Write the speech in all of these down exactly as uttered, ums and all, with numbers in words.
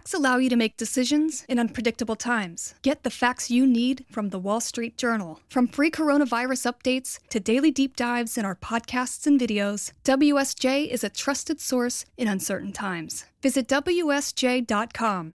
Facts allow you to make decisions in unpredictable times. Get the facts you need from the Wall Street Journal. From free coronavirus updates to daily deep dives in our podcasts and videos, W S J is a trusted source in uncertain times. Visit W S J dot com.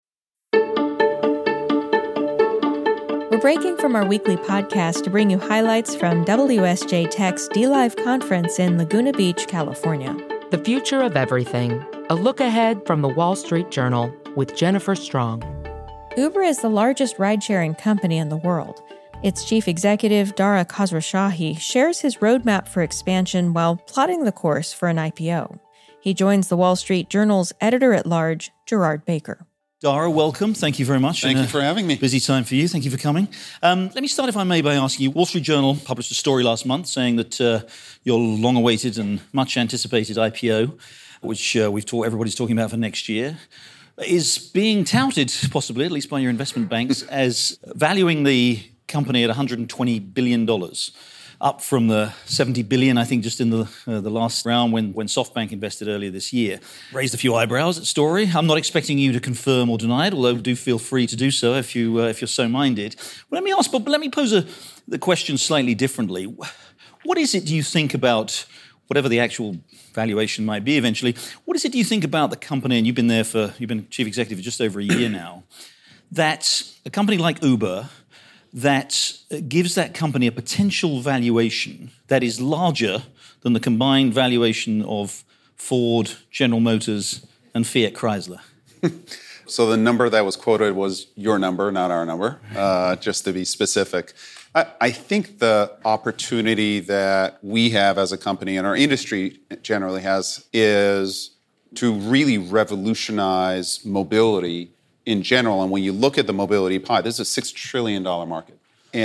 We're breaking from our weekly podcast to bring you highlights from W S J Tech's D-Live conference in Laguna Beach, California. The Future of Everything, a look ahead from the Wall Street Journal with Jennifer Strong. Uber is the largest ride-sharing company in the world. Its chief executive, Dara Khosrowshahi, shares his roadmap for expansion while plotting the course for an I P O. He joins the Wall Street Journal's editor-at-large, Gerard Baker. Dara, welcome. Thank you very much. Thank you for having me. Busy time for you. Thank you for coming. Um, let me start, if I may, by asking you, Wall Street Journal published a story last month saying that uh, your long-awaited and much-anticipated I P O, which uh, we've talk, everybody's talking about for next year, is being touted, possibly, at least by your investment banks, as valuing the company at one hundred twenty billion dollars, up from the seventy billion dollars, I think, just in the uh, the last round when, when SoftBank invested earlier this year. Raised a few eyebrows at story. I'm not expecting you to confirm or deny it, although do feel free to do so if, you, uh, if you're so minded. But let me ask, but let me pose a, the question slightly differently. What is it do you think about, whatever the actual valuation might be eventually, what is it do you think about the company, and you've been there for, you've been chief executive for just over a year now, that a company like Uber, that gives that company a potential valuation that is larger than the combined valuation of Ford, General Motors, and Fiat Chrysler? So the number that was quoted was your number, not our number, uh, just to be specific. I, I think the opportunity that we have as a company and our industry generally has is to really revolutionize mobility in general. And when you look at the mobility pie, this is a six trillion dollars market.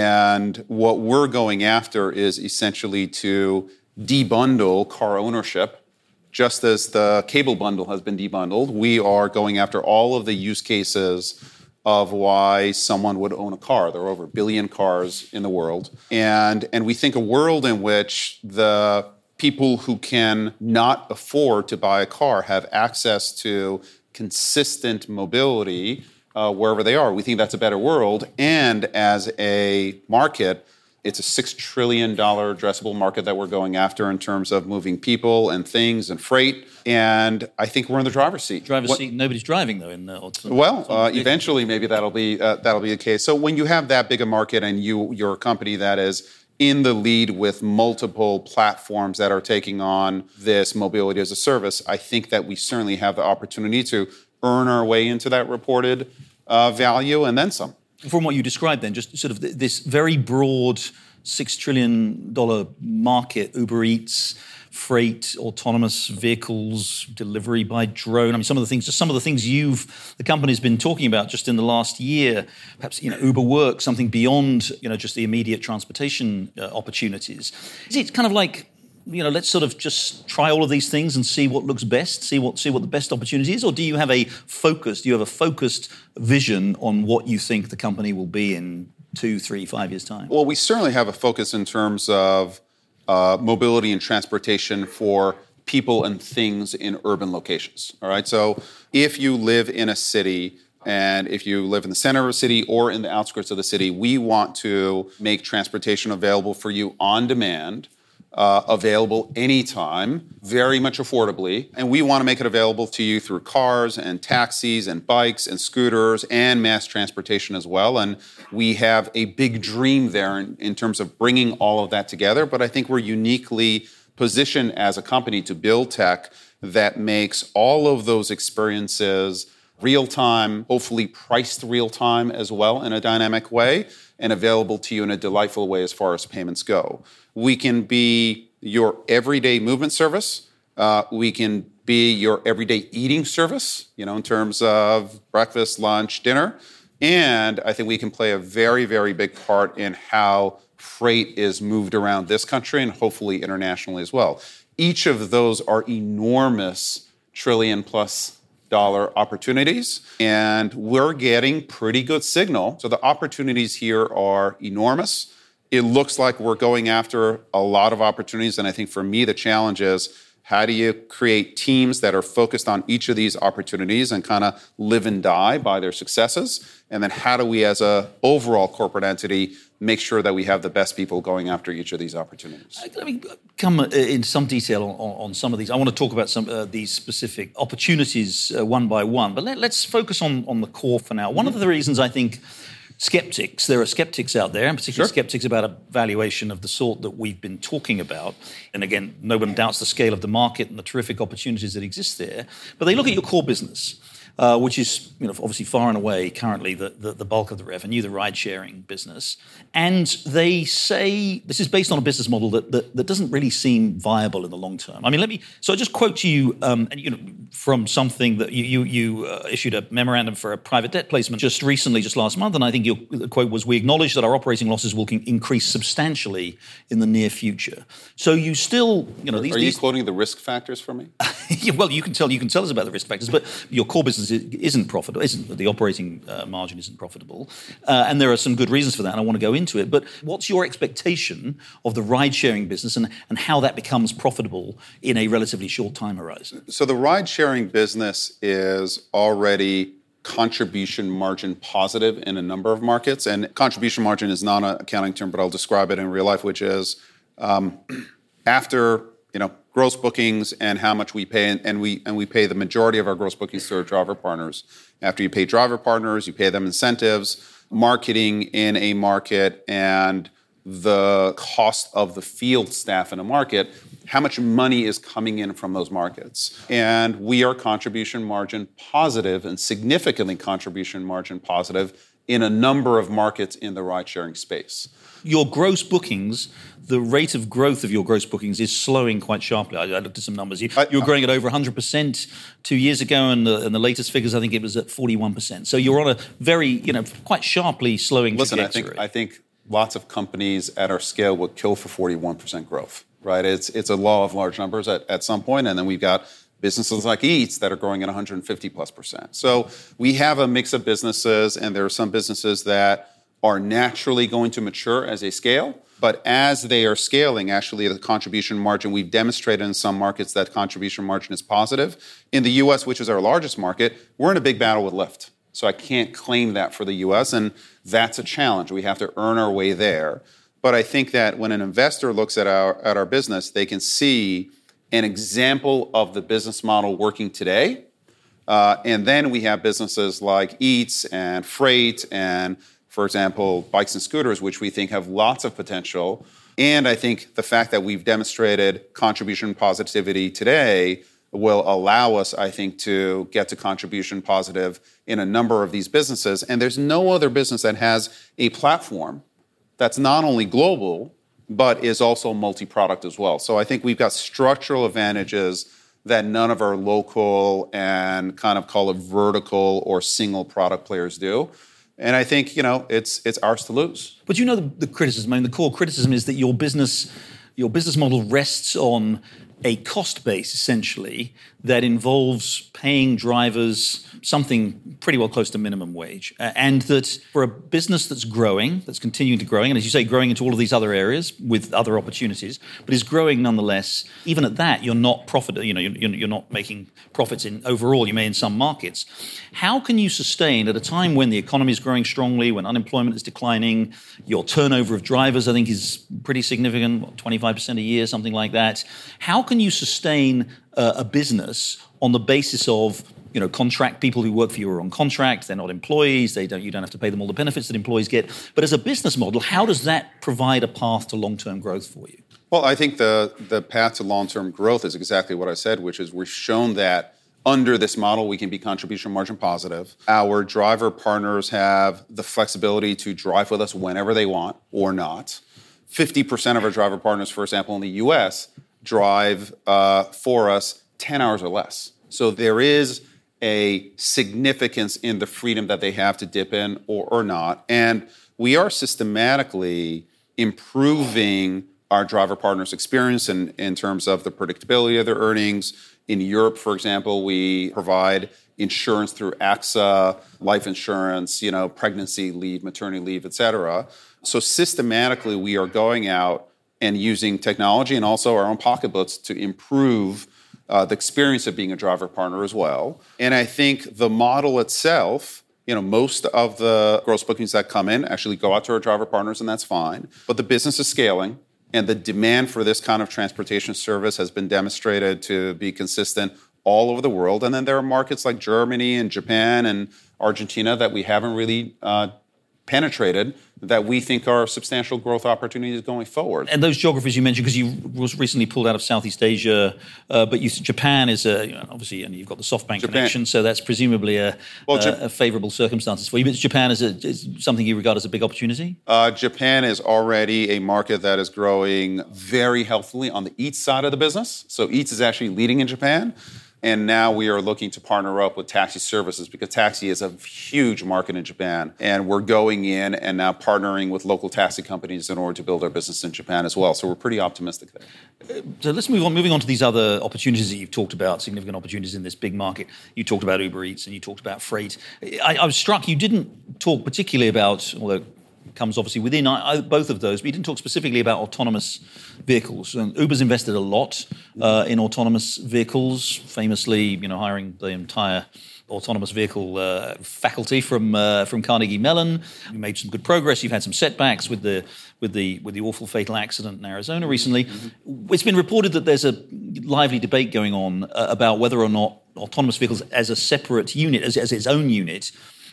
And what we're going after is essentially to debundle car ownership. Just as the cable bundle has been debundled, we are going after all of the use cases of why someone would own a car. There are over a billion cars in the world. And, and we think a world in which the people who can not afford to buy a car have access to consistent mobility uh, wherever they are. We think that's a better world. And as a market, it's a six trillion dollars addressable market that we're going after in terms of moving people and things and freight. And I think we're in the driver's seat. Driver's what, seat, nobody's driving, though. In uh, Well, uh, eventually maybe that'll be uh, that'll be the case. So when you have that big a market and you, you're a company that is in the lead with multiple platforms that are taking on this mobility as a service, I think that we certainly have the opportunity to earn our way into that reported uh, value and then some. From what you described then, just sort of this very broad six trillion dollars market, Uber Eats, freight, autonomous vehicles, delivery by drone. I mean, some of the things, just some of the things you've, the company's been talking about just in the last year, perhaps, you know, Uber Work, something beyond, you know, just the immediate transportation uh, opportunities. Is it kind of like, you know, let's sort of just try all of these things and see what looks best, see what see what the best opportunity is? Or do you have a focus, do you have a focused vision on what you think the company will be in two, three, five years' time? Well, we certainly have a focus in terms of uh, mobility and transportation for people and things in urban locations, all right? So if you live in a city and if you live in the center of a city or in the outskirts of the city, we want to make transportation available for you on demand, Uh, available anytime, very much affordably. And we want to make it available to you through cars and taxis and bikes and scooters and mass transportation as well. And we have a big dream there in, in terms of bringing all of that together. But I think we're uniquely positioned as a company to build tech that makes all of those experiences real-time, hopefully priced real-time as well in a dynamic way, and available to you in a delightful way as far as payments go. We can be your everyday movement service. Uh, we can be your everyday eating service, you know, in terms of breakfast, lunch, dinner. And I think we can play a very, very big part in how freight is moved around this country and hopefully internationally as well. Each of those are enormous trillion plus dollar opportunities, and we're getting pretty good signal. So the opportunities here are enormous. It looks like we're going after a lot of opportunities, and I think for me the challenge is How do you create teams that are focused on each of these opportunities and kind of live and die by their successes? And then how do we, as a overall corporate entity, make sure that we have the best people going after each of these opportunities? Let me come in some detail on, on some of these. I want to talk about some of uh, these specific opportunities uh, one by one, but let, let's focus on, on the core for now. One mm-hmm. of the reasons I think skeptics, there are skeptics out there, and particularly sure. skeptics about a valuation of the sort that we've been talking about. And again, no one doubts the scale of the market and the terrific opportunities that exist there. But they look at your core business, uh, which is, you know, obviously far and away currently the, the, the bulk of the revenue, the ride-sharing business. And they say this is based on a business model that, that, that doesn't really seem viable in the long term. I mean, let me, so I just quote to you, um, and, you know, from something that you, you, you uh, issued a memorandum for a private debt placement just recently, just last month, and I think your quote was, "We acknowledge that our operating losses will increase substantially in the near future." So you still, you know, these... Are you these, quoting the risk factors for me? Yeah, well, you can tell you can tell us about the risk factors, but your core business isn't profitable. Isn't the operating uh, margin isn't profitable, uh, and there are some good reasons for that. And I want to go into it. But what's your expectation of the ride-sharing business and and how that becomes profitable in a relatively short time horizon? So the ride-sharing business is already contribution margin positive in a number of markets, and contribution margin is not an accounting term, but I'll describe it in real life, which is um, after you know. gross bookings and how much we pay, and, and we and we pay the majority of our gross bookings to our driver partners. After you pay driver partners, you pay them incentives, marketing in a market, and the cost of the field staff in a market, how much money is coming in from those markets. And we are contribution margin positive and significantly contribution margin positive in a number of markets in the ride-sharing space. Your gross bookings, the rate of growth of your gross bookings is slowing quite sharply. I, I looked at some numbers. You, I, you were growing at over one hundred percent two years ago, and the, and the latest figures, I think it was at forty-one percent. So you're on a very, you know, quite sharply slowing Listen, trajectory. Listen, I think, I think lots of companies at our scale would kill for forty-one percent growth, right? It's it's a law of large numbers at, at some point, and then we've got businesses like Eats that are growing at one hundred fifty plus percent. So we have a mix of businesses, and there are some businesses that are naturally going to mature as they scale. But as they are scaling, actually, the contribution margin, we've demonstrated in some markets that contribution margin is positive. In the U S, which is our largest market, we're in a big battle with Lyft. So I can't claim that for the U S, and that's a challenge. We have to earn our way there. But I think that when an investor looks at our at our business, they can see an example of the business model working today. Uh, and then we have businesses like Eats and Freight and, for example, bikes and scooters, which we think have lots of potential. And I think the fact that we've demonstrated contribution positivity today will allow us, I think, to get to contribution positive in a number of these businesses. And there's no other business that has a platform that's not only global, but is also multi-product as well. So I think we've got structural advantages that none of our local and kind of call it vertical or single product players do. And I think, you know, it's it's ours to lose. But you know the, the criticism, I mean, the core criticism is that your business, your business model rests on a cost base, essentially, that involves paying drivers something pretty well close to minimum wage. Uh, and that for a business that's growing, that's continuing to growing, and as you say, growing into all of these other areas with other opportunities, but is growing nonetheless, even at that, you're not profit, you know, you're, you're not making profits in overall, you may in some markets. How can you sustain at a time when the economy is growing strongly, when unemployment is declining, your turnover of drivers, I think, is pretty significant, what, twenty-five percent a year, something like that. How can you sustain uh, a business on the basis of, you know, contract people who work for you are on contract, they're not employees, they don't, you don't have to pay them all the benefits that employees get. But as a business model, how does that provide a path to long-term growth for you? Well, I think the, the path to long-term growth is exactly what I said, which is we've shown that under this model, we can be contribution margin positive. Our driver partners have the flexibility to drive with us whenever they want or not. fifty percent of our driver partners, for example, in the U S, drive uh, for us ten hours or less. So there is a significance in the freedom that they have to dip in or, or not. And we are systematically improving our driver partners' experience in, in terms of the predictability of their earnings. In Europe, for example, we provide insurance through A X A, life insurance, you know, pregnancy leave, maternity leave, et cetera. So systematically, we are going out and using technology and also our own pocketbooks to improve uh, the experience of being a driver partner as well. And I think the model itself, you know, most of the gross bookings that come in actually go out to our driver partners, and that's fine. But the business is scaling, and the demand for this kind of transportation service has been demonstrated to be consistent all over the world. And then there are markets like Germany and Japan and Argentina that we haven't really uh, penetrated, that we think are substantial growth opportunities going forward. And those geographies you mentioned, because you was recently pulled out of Southeast Asia, uh, but you, Japan is a, you know, obviously, and you've got the SoftBank Japan. connection, so that's presumably a, well, a, Jap- a favourable circumstances for you. But Japan is, a, is something you regard as a big opportunity? Uh, Japan is already a market that is growing very healthily on the Eats side of the business. So Eats is actually leading in Japan. And now we are looking to partner up with taxi services because taxi is a huge market in Japan. And we're going in and now partnering with local taxi companies in order to build our business in Japan as well. So we're pretty optimistic there. Uh, so let's move on. Moving on to these other opportunities that you've talked about, significant opportunities in this big market. You talked about Uber Eats and you talked about freight. I, I was struck you didn't talk particularly about, although comes obviously within I, I, both of those, but you didn't talk specifically about autonomous vehicles. And Uber's invested a lot uh, in autonomous vehicles, famously, you know, hiring the entire autonomous vehicle uh, faculty from uh, from Carnegie Mellon. You made some good progress. You've had some setbacks with the with the with the awful fatal accident in Arizona recently. Mm-hmm. It's been reported that there's a lively debate going on uh, about whether or not autonomous vehicles as a separate unit, as, as its own unit,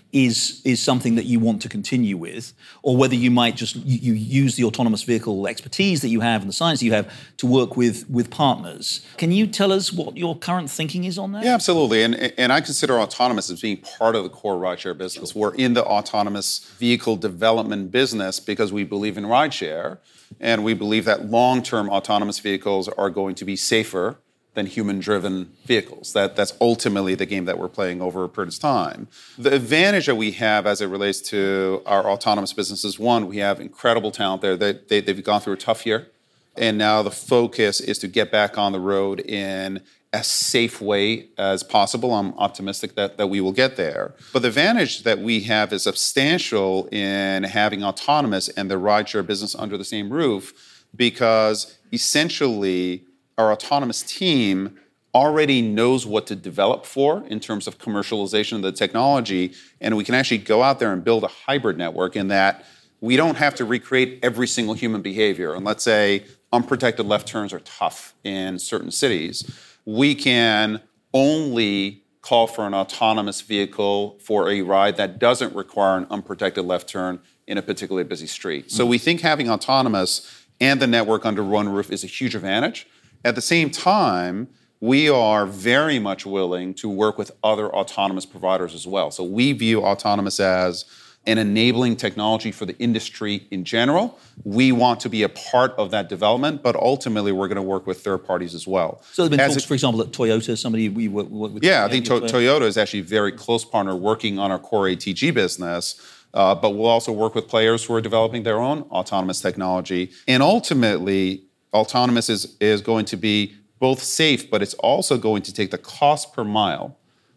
is is something that you want to continue with, or whether you might just you, you use the autonomous vehicle expertise that you have and the science that you have to work with with partners. Can you tell us what your current thinking is on that? Yeah, absolutely. And and I consider autonomous as being part of the core rideshare business. We're in the autonomous vehicle development business because we believe in rideshare, and we believe that long-term autonomous vehicles are going to be safer than human-driven vehicles. That, that's ultimately the game that we're playing over a period of time. The advantage that we have as it relates to our autonomous business is, one, we have incredible talent there. They, they, they've gone through a tough year, and now the focus is to get back on the road in as safe way as possible. I'm optimistic that, that we will get there. But the advantage that we have is substantial in having autonomous and the rideshare business under the same roof, because essentially our autonomous team already knows what to develop for in terms of commercialization of the technology, and we can actually go out there and build a hybrid network in that we don't have to recreate every single human behavior. And let's say unprotected left turns are tough in certain cities. We can only call for an autonomous vehicle for a ride that doesn't require an unprotected left turn in a particularly busy street. Mm-hmm. So we think having autonomous and the network under one roof is a huge advantage. At the same time, we are very much willing to work with other autonomous providers as well. So we view autonomous as an enabling technology for the industry in general. We want to be a part of that development, but ultimately we're going to work with third parties as well. So there have been as talks, it, for example, at Toyota, somebody we work, work with. Yeah, I think to- Toyota is actually a very close partner working on our core A T G business. Uh, but we'll also work with players who are developing their own autonomous technology. And ultimately, autonomous is, is going to be both safe, but it's also going to take the cost per mile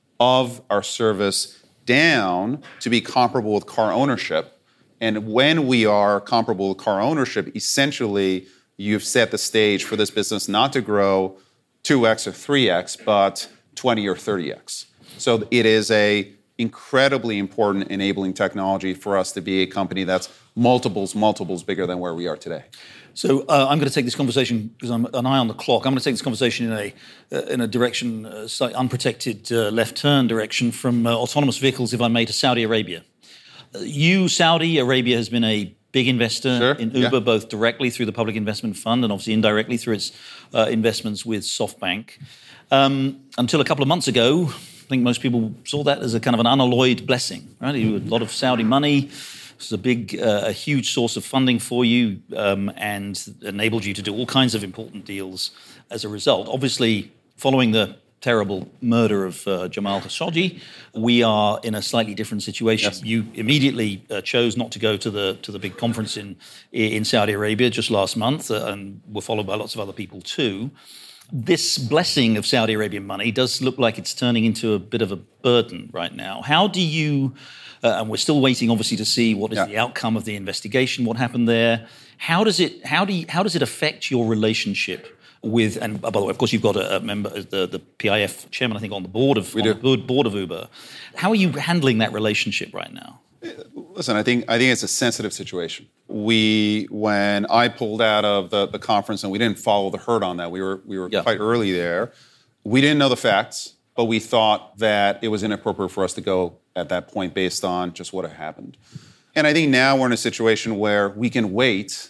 of our service down to be comparable with car ownership. And when we are comparable with car ownership, essentially, you've set the stage for this business not to grow two X or three X, but twenty or thirty X. So it is a incredibly important enabling technology for us to be a company that's multiples, multiples bigger than where we are today. So uh, I'm going to take this conversation, because I'm an eye on the clock, I'm going to take this conversation in a uh, in a direction, uh, slightly unprotected uh, left turn direction from uh, autonomous vehicles, if I may, to Saudi Arabia. Uh, you, Saudi Arabia, has been a big investor sure, in Uber, yeah. both directly through the Public Investment Fund and obviously indirectly through its uh, investments with SoftBank. Um, until a couple of months ago, I think most people saw that as a kind of an unalloyed blessing, right? You had a lot of Saudi money. This is a big, uh, a huge source of funding for you, um, and enabled you to do all kinds of important deals as a result. Obviously, following the terrible murder of uh, Jamal Khashoggi, we are in a slightly different situation. Yes. You immediately uh, chose not to go to the to the big conference in in Saudi Arabia just last month, uh, and were followed by lots of other people too. This blessing of Saudi Arabian money does look like it's turning into a bit of a burden right now. How do you, uh, and we're still waiting obviously to see what is yeah. the outcome of the investigation, what happened there. How does it, how do you, how does it affect your relationship with, and by the way, of course, you've got a, a member, the, the P I F chairman, I think, on the board of we on do. the board, board of Uber. How are you handling that relationship right now? Listen, I think I think it's a sensitive situation. We, when I pulled out of the, the conference, and we didn't follow the herd on that, we were we were Yeah. quite early there. We didn't know the facts, but we thought that it was inappropriate for us to go at that point based on just what had happened. And I think now we're in a situation where we can wait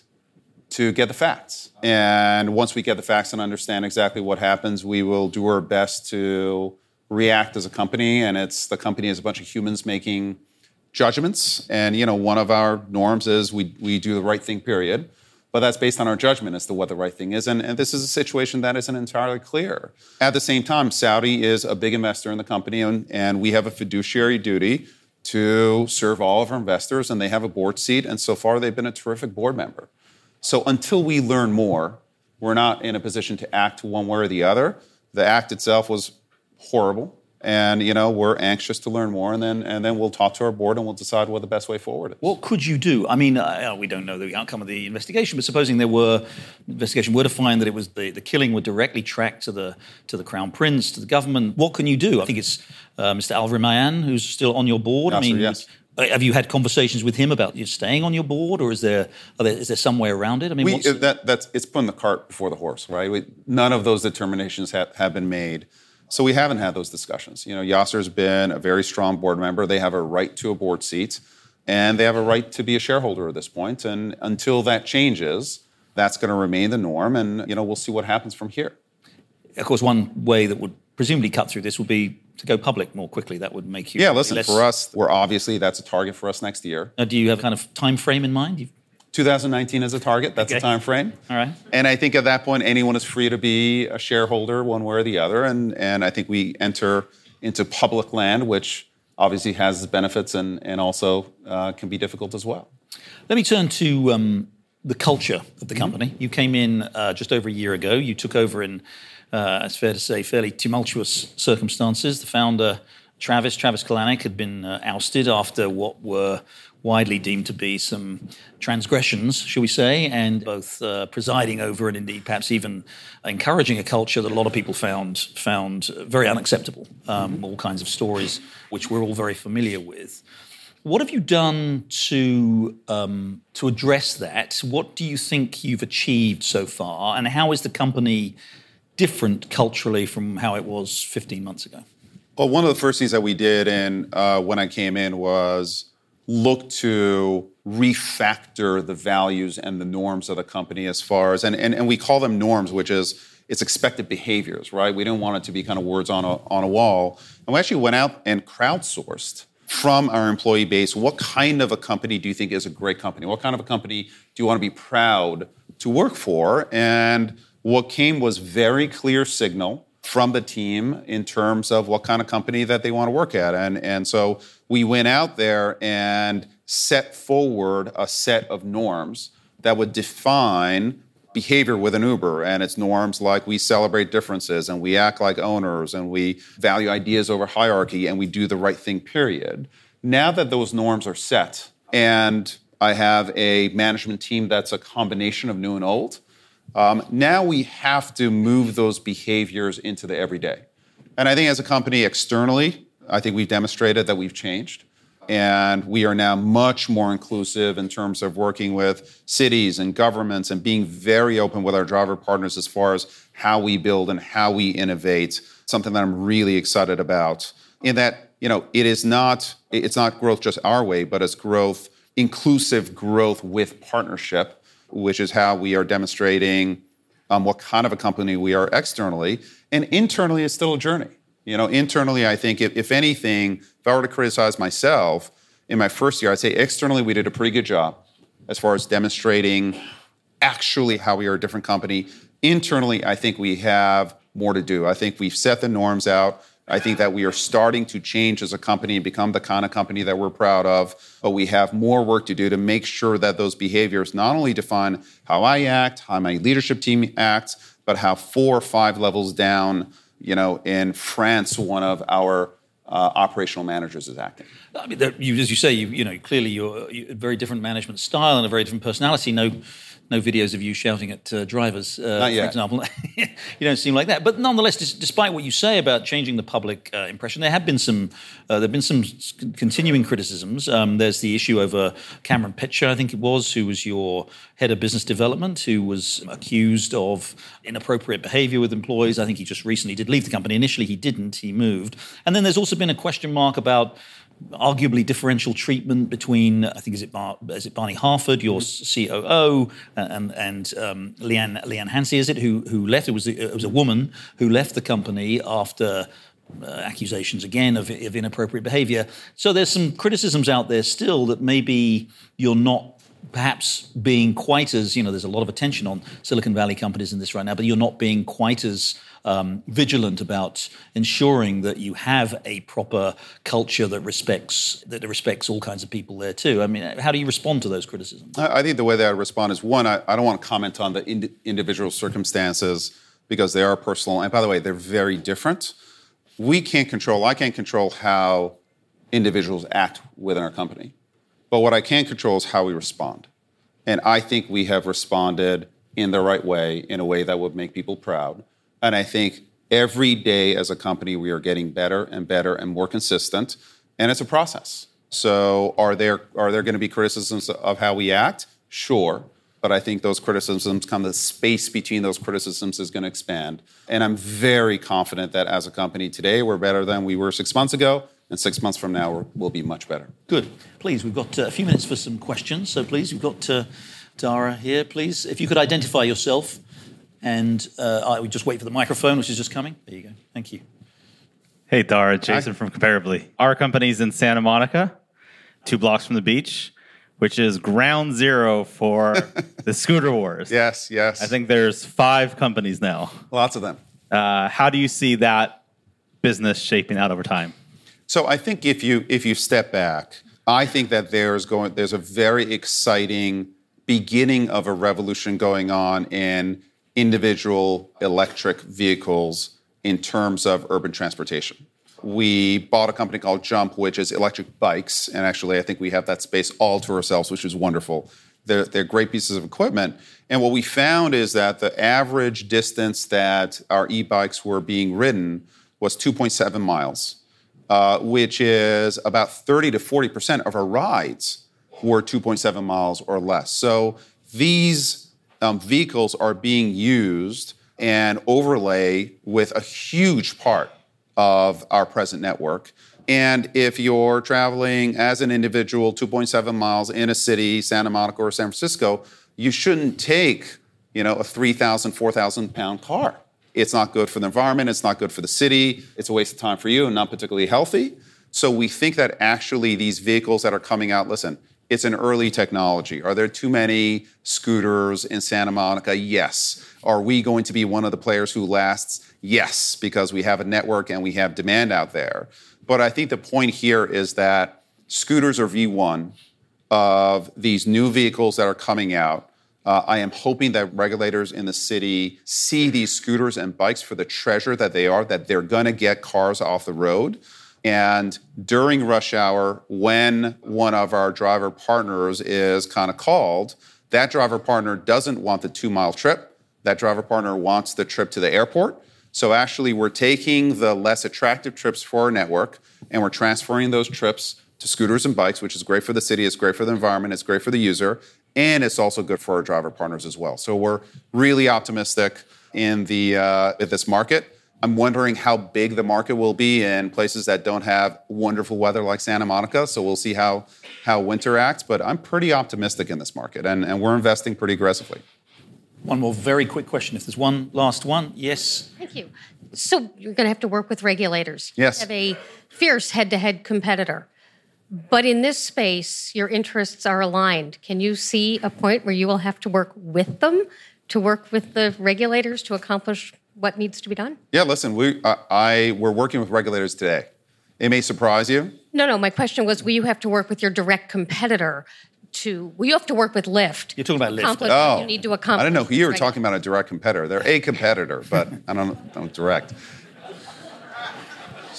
to get the facts. And once we get the facts and understand exactly what happens, we will do our best to react as a company. And it's the company is a bunch of humans making judgments. And, you know, one of our norms is we we do the right thing, period. But that's based on our judgment as to what the right thing is. And, and this is a situation that isn't entirely clear. At the same time, Saudi is a big investor in the company, and, and we have a fiduciary duty to serve all of our investors, and they have a board seat. And so far, they've been a terrific board member. So until we learn more, we're not in a position to act one way or the other. The act itself was horrible. And, you know, we're anxious to learn more, and then and then we'll talk to our board and we'll decide what the best way forward is. What could you do? I mean, uh, we don't know the outcome of the investigation, but supposing there were investigation were to find that it was the, the killing were directly tracked to the to the Crown Prince, to the government, what can you do? I think it's uh, Mister Al Rumayyan who's still on your board. Yes, I mean, sir, yes. Have you had conversations with him about you staying on your board, or is there, are there is there some way around it? I mean, we, what's, that, that's it's putting the cart before the horse, right? We, none of those determinations have, have been made. So we haven't had those discussions. You know, Yasser's been a very strong board member. They have a right to a board seat, and they have a right to be a shareholder at this point. And until that changes, that's going to remain the norm. And, you know, we'll see what happens from here. Of course, one way that would presumably cut through this would be to go public more quickly. That would make you... Yeah, listen, less... for us, we're obviously, that's a target for us next year. Uh, do you have kind of time frame in mind? You've... twenty nineteen is a target. That's Okay. a time frame. All right. And I think at that point, anyone is free to be a shareholder one way or the other. And, and I think we enter into public land, which obviously has its benefits and, and also uh, can be difficult as well. Let me turn to um, the culture of the company. Mm-hmm. You came in uh, just over a year ago. You took over in, uh, it's fair to say, fairly tumultuous circumstances. The founder, Travis, Travis Kalanick, had been uh, ousted after what were widely deemed to be some transgressions, shall we say, and both uh, presiding over and indeed perhaps even encouraging a culture that a lot of people found found very unacceptable. Um, all kinds of stories which we're all very familiar with. What have you done to um, to address that? What do you think you've achieved so far, and how is the company different culturally from how it was fifteen months ago? Well, one of the first things that we did in, uh, when I came in was look to refactor the values and the norms of the company as far as, and, and, and we call them norms, which is it's expected behaviors, right? We didn't want it to be kind of words on a, on a wall. And we actually went out and crowdsourced from our employee base, what kind of a company do you think is a great company? What kind of a company do you want to be proud to work for? And what came was very clear signal from the team in terms of what kind of company that they want to work at. And, and so we went out there and set forward a set of norms that would define behavior within Uber. And it's norms like we celebrate differences and we act like owners and we value ideas over hierarchy and we do the right thing, period. Now that those norms are set and I have a management team that's a combination of new and old, Um, now we have to move those behaviors into the everyday. And I think as a company externally, I think we've demonstrated that we've changed. And we are now much more inclusive in terms of working with cities and governments and being very open with our driver partners as far as how we build and how we innovate, something that I'm really excited about. In that, you know, it is not, it's not growth just our way, but it's growth, inclusive growth with partnership, which is how we are demonstrating um, what kind of a company we are externally. And internally, it's still a journey. You know, internally, I think if, if anything, if I were to criticize myself in my first year, I'd say externally we did a pretty good job as far as demonstrating actually how we are a different company. Internally, I think we have more to do. I think we've set the norms out. I think that we are starting to change as a company and become the kind of company that we're proud of, but we have more work to do to make sure that those behaviors not only define how I act, how my leadership team acts, but how four or five levels down, you know, in France, one of our uh, operational managers is acting. I mean, there, you, as you say, you, you know, clearly you're, you're a very different management style and a very different personality. No, no videos of you shouting at uh, drivers, uh, Not yet. for example. You don't seem like that. But nonetheless, dis- despite what you say about changing the public uh, impression, there have been some, uh, there have been some s- continuing criticisms. Um, there's the issue over Cameron Pitcher, I think it was, who was your head of business development, who was accused of inappropriate behavior with employees. I think he just recently did leave the company. Initially, he didn't. He moved. And then there's also been a question mark about arguably differential treatment between, I think, is it Bar- is it Barney Harford, your mm-hmm. C O O, and and um, Leanne Leanne Hansie, is it, who who left? It was it was a woman who left the company after uh, accusations again of, of inappropriate behaviour. So there's some criticisms out there still that maybe you're not perhaps being quite as, you know, there's a lot of attention on Silicon Valley companies in this right now, but you're not being quite as um, vigilant about ensuring that you have a proper culture that respects that respects all kinds of people there too. I mean, how do you respond to those criticisms? I think the way that I respond is, one, I, I don't want to comment on the ind- individual circumstances because they are personal. And by the way, they're very different. We can't control, I can't control how individuals act within our company. But what I can control is how we respond. And I think we have responded in the right way, in a way that would make people proud. And I think every day as a company, we are getting better and better and more consistent. And it's a process. So are there are there going to be criticisms of how we act? Sure. But I think those criticisms come, the space between those criticisms is going to expand. And I'm very confident that as a company today, we're better than we were six months ago. And six months from now, we're, we'll be much better. Good. Please, we've got uh, a few minutes for some questions. So please, we've got uh, Dara here. Please, if you could identify yourself. And uh, I would just wait for the microphone, which is just coming. There you go. Thank you. Hey, Dara. Jason Hi. From Comparably. Our company's in Santa Monica, two blocks from the beach, which is ground zero for the scooter wars. Yes, yes. I think there's five companies now. Lots of them. Uh, how do you see that business shaping out over time? So I think if you if you step back, I think that there's going there's a very exciting beginning of a revolution going on in individual electric vehicles in terms of urban transportation. We bought a company called Jump, which is electric bikes, and actually I think we have that space all to ourselves, which is wonderful. They're, they're great pieces of equipment. And what we found is that the average distance that our e-bikes were being ridden was two point seven miles. Uh, which is about thirty to forty percent of our rides were two point seven miles or less. So these um, vehicles are being used and overlay with a huge part of our present network. And if you're traveling as an individual two point seven miles in a city, Santa Monica or San Francisco, you shouldn't take, you know, a three thousand, four thousand pound car. It's not good for the environment. It's not good for the city. It's a waste of time for you and not particularly healthy. So we think that actually these vehicles that are coming out, listen, it's an early technology. Are there too many scooters in Santa Monica? Yes. Are we going to be one of the players who lasts? Yes, because we have a network and we have demand out there. But I think the point here is that scooters are V one of these new vehicles that are coming out. Uh, I am hoping that regulators in the city see these scooters and bikes for the treasure that they are, that they're going to get cars off the road. And during rush hour, when one of our driver partners is kind of called, that driver partner doesn't want the two-mile trip. That driver partner wants the trip to the airport. So actually, we're taking the less attractive trips for our network, and we're transferring those trips to scooters and bikes, which is great for the city, it's great for the environment, it's great for the user. And it's also good for our driver partners as well. So we're really optimistic in the uh, in this market. I'm wondering how big the market will be in places that don't have wonderful weather like Santa Monica. So we'll see how how winter acts. But I'm pretty optimistic in this market, and, and we're investing pretty aggressively. One more very quick question. If there's one last one, yes. Thank you. So you're going to have to work with regulators. Yes. You have a fierce head-to-head competitor. But in this space, your interests are aligned. Can you see a point where you will have to work with them, to work with the regulators to accomplish what needs to be done? Yeah, listen, we uh, I we're working with regulators today. It may surprise you. No, no. My question was, will you have to work with your direct competitor to? Will you have to work with Lyft? You're talking about Lyft. Accomplish Oh, what you need to accomplish. I didn't know who you were Right. talking about a direct competitor. They're a competitor, but I don't, I don't direct.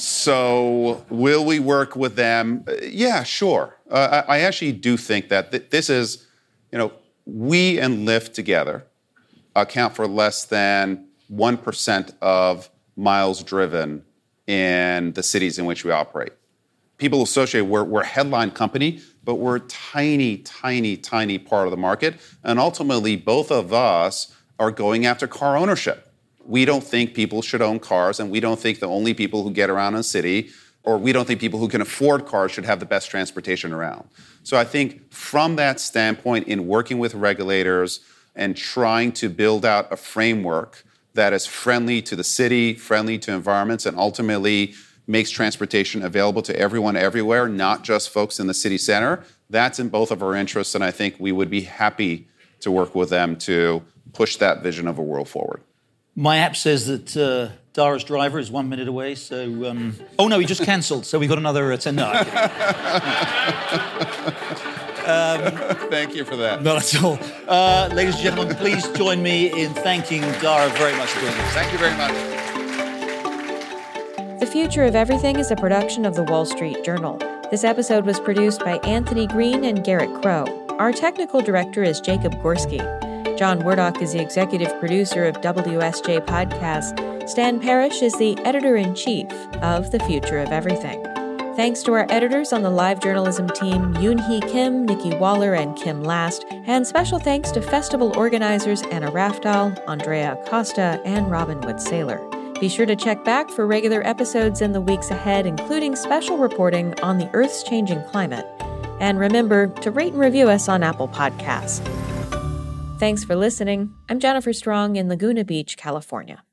So will we work with them? Uh, Yeah, sure. Uh, I I actually do think that th- this is, you know, we and Lyft together account for less than one percent of miles driven in the cities in which we operate. People associate, we're, we're a headline company, but we're a tiny, tiny, tiny part of the market. And ultimately, both of us are going after car ownership. We don't think people should own cars, and we don't think the only people who get around in the city, or we don't think people who can afford cars should have the best transportation around. So I think from that standpoint, in working with regulators and trying to build out a framework that is friendly to the city, friendly to environments, and ultimately makes transportation available to everyone everywhere, not just folks in the city center, that's in both of our interests, and I think we would be happy to work with them to push that vision of a world forward. My app says that uh, Dara's driver is one minute away, so... Um, oh, no, he just cancelled, so we've got another uh, ten... No, um, Thank you for that. Not at all. Uh, ladies and gentlemen, please join me in thanking Dara very much for doing this. Thank you very much. The Future of Everything is a production of The Wall Street Journal. This episode was produced by Anthony Green and Garrett Crow. Our technical director is Jacob Gorski. John Wordock is the executive producer of W S J Podcast. Stan Parrish is the editor-in-chief of The Future of Everything. Thanks to our editors on the live journalism team, Yoon-hee Kim, Nikki Waller, and Kim Last, and special thanks to festival organizers Anna Rafdahl, Andrea Acosta, and Robin Wood-Saylor. Be sure to check back for regular episodes in the weeks ahead, including special reporting on the Earth's changing climate. And remember to rate and review us on Apple Podcasts. Thanks for listening. I'm Jennifer Strong in Laguna Beach, California.